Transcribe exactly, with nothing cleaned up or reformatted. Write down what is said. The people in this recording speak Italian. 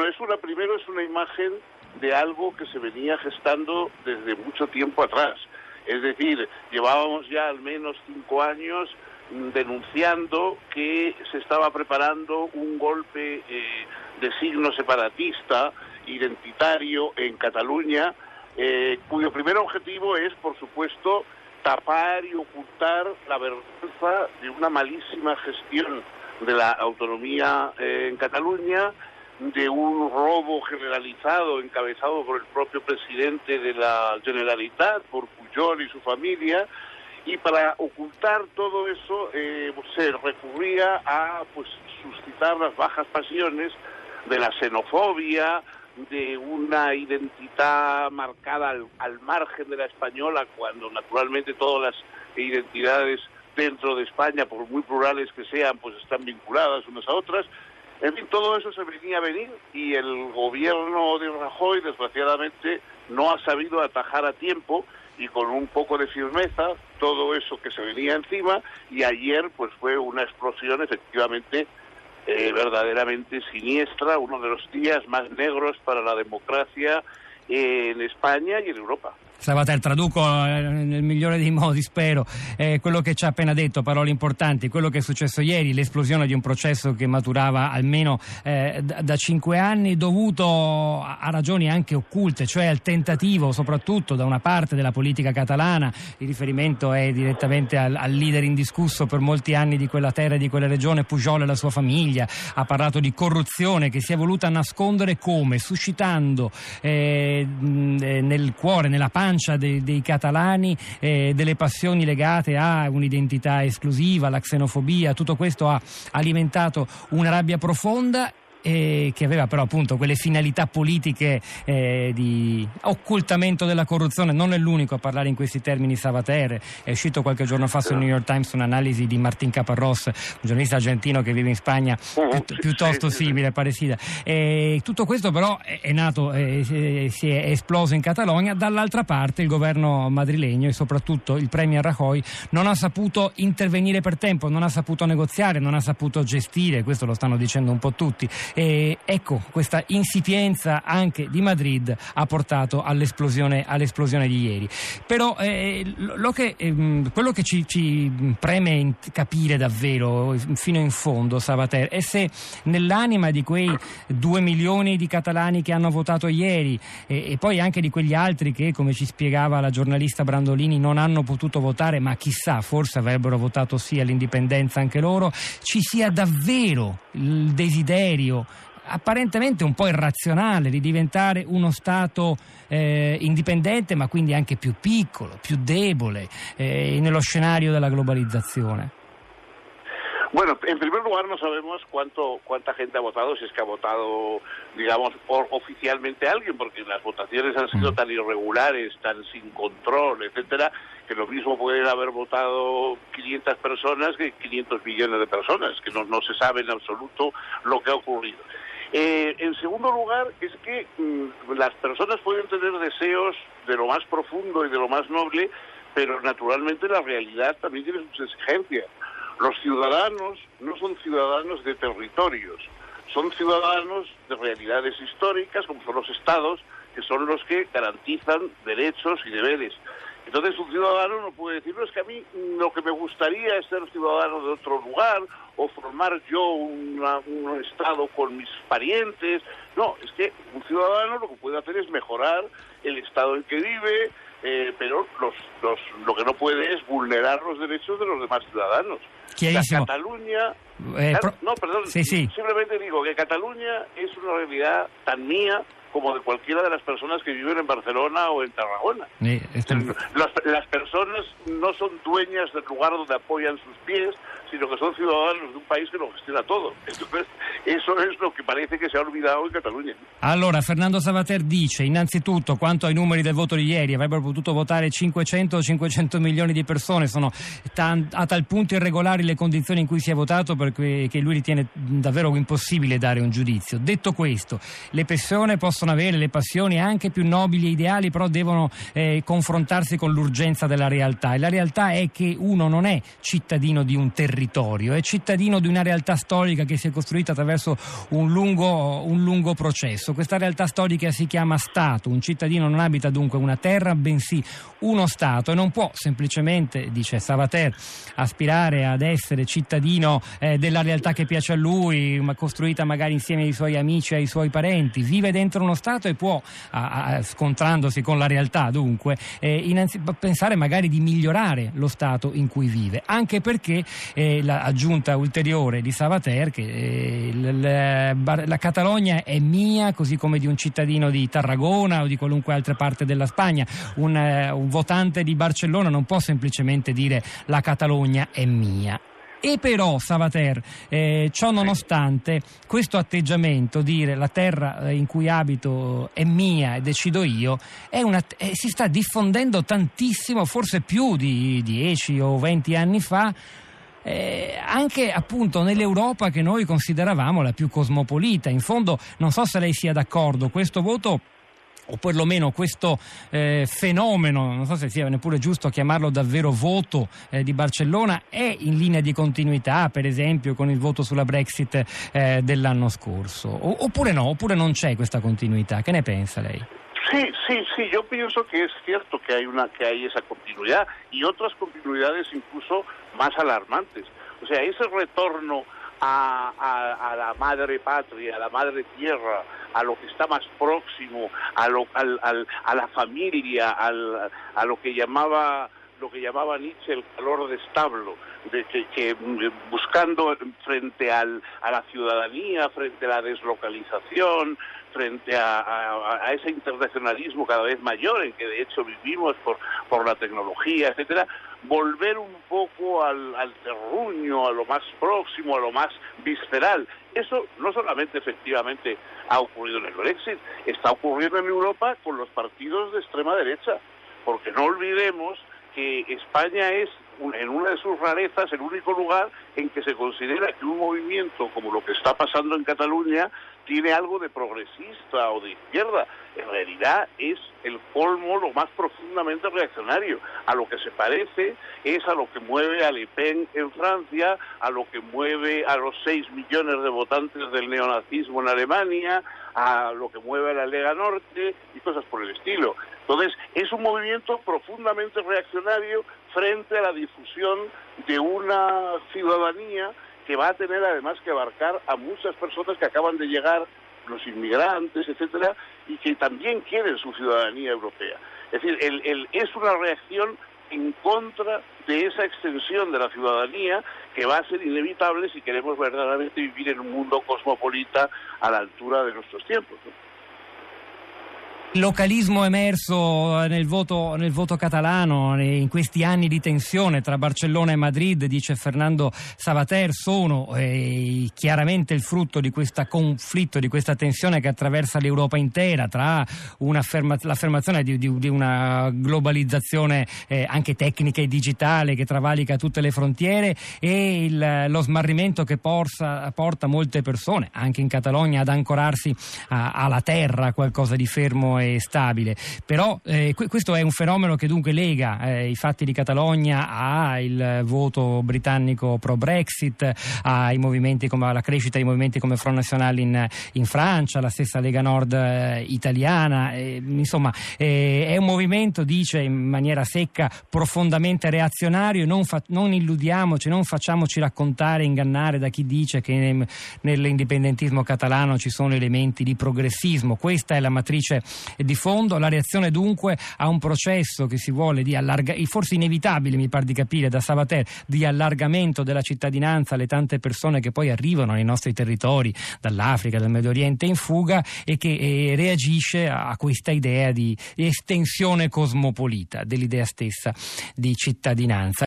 Bueno, es una, primero es una imagen de algo que se venía gestando desde mucho tiempo atrás. Es decir, llevábamos ya al menos cinco años denunciando que se estaba preparando un golpe eh, de signo separatista, identitario en Cataluña, eh, cuyo primer objetivo es, por supuesto, tapar y ocultar la vergüenza de una malísima gestión de la autonomía eh, en Cataluña, de un robo generalizado encabezado por el propio presidente de la Generalitat, por Pujol y su familia, y para ocultar todo eso eh, se recurría a pues suscitar las bajas pasiones de la xenofobia, de una identidad marcada al, al margen de la española, cuando naturalmente todas las identidades dentro de España, por muy plurales que sean, pues están vinculadas unas a otras. En fin, todo eso se venía a venir y el gobierno de Rajoy, desgraciadamente, no ha sabido atajar a tiempo y con un poco de firmeza todo eso que se venía encima, y ayer pues fue una explosión efectivamente eh, verdaderamente siniestra, uno de los días más negros para la democracia en Spagna e in Europa. Savater, traduco nel migliore dei modi, spero, eh, quello che ci ha appena detto, parole importanti, quello che è successo ieri, l'esplosione di un processo che maturava almeno eh, da, da cinque anni, dovuto a, a ragioni anche occulte, cioè al tentativo soprattutto da una parte della politica catalana, il riferimento è direttamente al, al leader indiscusso per molti anni di quella terra e di quella regione, Pujol e la sua famiglia, ha parlato di corruzione che si è voluta nascondere come? Suscitando eh, nel cuore, nella pancia Dei, dei catalani eh, delle passioni legate a un'identità esclusiva, alla xenofobia. Tutto questo ha alimentato una rabbia profonda eh, che aveva però appunto quelle finalità politiche eh, di occultamento della corruzione. Non è l'unico a parlare in questi termini, Savater. È uscito qualche giorno fa sul New York Times un'analisi di Martín Caparrós, un giornalista argentino che vive in Spagna, pi- piuttosto simile, parecida. E tutto questo però è, è nato, eh, si è esploso in Catalogna. Dall'altra parte il governo madrilegno e soprattutto il premier Rajoy non ha saputo intervenire per tempo, non ha saputo negoziare, non ha saputo gestire, questo lo stanno dicendo un po' tutti. E ecco, questa insipienza anche di Madrid ha portato all'esplosione, all'esplosione di ieri. Però eh, lo che, eh, quello che ci, ci preme capire davvero fino in fondo, Savater, è se nell'anima di quei due milioni di catalani che hanno votato ieri e, e poi anche di quegli altri che, come ci spiegava la giornalista Brandolini, non hanno potuto votare, ma chissà, forse avrebbero votato sì all'indipendenza anche loro, ci sia davvero il desiderio apparentemente un po' irrazionale di diventare uno Stato eh, indipendente, ma quindi anche più piccolo, più debole eh, nello scenario della globalizzazione. Bueno, en primer lugar no sabemos cuánto cuánta gente ha votado, si es que ha votado, digamos, por, oficialmente alguien, porque las votaciones han sido tan irregulares, tan sin control, etcétera, que lo mismo pueden haber votado quinientas personas que quinientos millones de personas, que no, no se sabe en absoluto lo que ha ocurrido. Eh, en segundo lugar, es que mmm, las personas pueden tener deseos de lo más profundo y de lo más noble, pero naturalmente la realidad también tiene sus exigencias. Los ciudadanos no son ciudadanos de territorios, son ciudadanos de realidades históricas, como son los estados, que son los que garantizan derechos y deberes. Entonces un ciudadano no puede decir, no, es que a mí lo que me gustaría es ser ciudadano de otro lugar o formar yo una, un estado con mis parientes. No, es que un ciudadano lo que puede hacer es mejorar el estado en que vive, eh, pero los, los, lo que no puede es vulnerar los derechos de los demás ciudadanos. La Cataluña... Eh, claro, pro... No, perdón, sí, sí. Simplemente digo que Cataluña es una realidad tan mía como de cualquiera de las personas que viven en Barcelona o en Tarragona. Sí, este... las, las personas no son dueñas del lugar donde apoyan sus pies, sino che sono ciudadanos di un paese che lo gestiona todo. Entonces, eso es lo che parece che si è olvidato in Catalogna. Allora, Fernando Savater dice, innanzitutto, quanto ai numeri del voto di ieri, avrebbero potuto votare cinquecento cinquecento milioni di persone, sono tan, a tal punto irregolari le condizioni in cui si è votato perché che lui ritiene davvero impossibile dare un giudizio. Detto questo, le persone possono avere le passioni anche più nobili e ideali, però devono eh, confrontarsi con l'urgenza della realtà, e la realtà è che uno non è cittadino di un territorio, territorio, è cittadino di una realtà storica che si è costruita attraverso un lungo, un lungo processo. Questa realtà storica si chiama Stato. Un cittadino non abita dunque una terra, bensì uno Stato, e non può semplicemente, dice Savater, aspirare ad essere cittadino eh, della realtà che piace a lui, ma costruita magari insieme ai suoi amici e ai suoi parenti. Vive dentro uno Stato e può, a, a, scontrandosi con la realtà dunque, eh, innanzi, pensare magari di migliorare lo Stato in cui vive, anche perché eh, l'aggiunta ulteriore di Savater che eh, la, la Catalogna è mia, così come di un cittadino di Tarragona o di qualunque altra parte della Spagna. Un, eh, un votante di Barcellona non può semplicemente dire la Catalogna è mia. E però Savater, eh, ciò nonostante, questo atteggiamento, dire la terra in cui abito è mia e decido io, è una, eh, si sta diffondendo tantissimo, forse più di dieci o venti anni fa, Eh, anche appunto nell'Europa che noi consideravamo la più cosmopolita. In fondo non so se lei sia d'accordo, questo voto o perlomeno questo eh, fenomeno, non so se sia neppure giusto chiamarlo davvero voto eh, di Barcellona, è in linea di continuità per esempio con il voto sulla Brexit eh, dell'anno scorso, o, oppure no, oppure non c'è questa continuità. Che ne pensa lei? Sí, sí, sí, yo pienso que es cierto que hay una que hay esa continuidad y otras continuidades incluso más alarmantes. O sea, ese retorno a, a, a la madre patria, a la madre tierra, a lo que está más próximo, a lo, al, al, a la familia, al, a lo que llamaba lo que llamaba Nietzsche el calor de establo, de que, que buscando frente al, a la ciudadanía, frente a la deslocalización, frente a, a, a ese internacionalismo cada vez mayor en que de hecho vivimos por, por la tecnología, etcétera, volver un poco al, al terruño, a lo más próximo, a lo más visceral. Eso no solamente efectivamente ha ocurrido en el Brexit, está ocurriendo en Europa con los partidos de extrema derecha, porque no olvidemos que España es, en una de sus rarezas, el único lugar en que se considera que un movimiento como lo que está pasando en Cataluña tiene algo de progresista o de izquierda. En realidad es el colmo, lo más profundamente reaccionario. A lo que se parece es a lo que mueve a Le Pen en Francia, a lo que mueve a los seis millones de votantes del neonazismo en Alemania, a lo que mueve a la Lega Norte y cosas por el estilo. Entonces, es un movimiento profundamente reaccionario frente a la difusión de una ciudadanía que va a tener además que abarcar a muchas personas que acaban de llegar, los inmigrantes, etcétera, y que también quieren su ciudadanía europea. Es decir, el, el, es una reacción en contra de esa extensión de la ciudadanía que va a ser inevitable si queremos verdaderamente vivir en un mundo cosmopolita a la altura de nuestros tiempos, ¿no? Il localismo emerso nel voto, nel voto catalano in questi anni di tensione tra Barcellona e Madrid, dice Fernando Savater, sono eh, chiaramente il frutto di questo conflitto, di questa tensione che attraversa l'Europa intera, tra l'affermazione di, di, di una globalizzazione eh, anche tecnica e digitale che travalica tutte le frontiere e il, lo smarrimento che porsa, porta molte persone, anche in Catalogna, ad ancorarsi a, alla terra, a qualcosa di fermo e stabile. Però eh, questo è un fenomeno che dunque lega eh, i fatti di Catalogna al voto britannico pro Brexit, ai movimenti come alla crescita di movimenti come Front National in, in Francia, la stessa Lega Nord eh, italiana, eh, insomma eh, è un movimento, dice in maniera secca, profondamente reazionario. Non, fa, non illudiamoci, non facciamoci raccontare, ingannare da chi dice che ne, nell'indipendentismo catalano ci sono elementi di progressismo. Questa è la matrice di fondo. La reazione dunque a un processo che si vuole di allargamento, forse inevitabile mi par di capire da Savater, di allargamento della cittadinanza alle tante persone che poi arrivano nei nostri territori dall'Africa, dal Medio Oriente in fuga, e che eh, reagisce a questa idea di estensione cosmopolita dell'idea stessa di cittadinanza.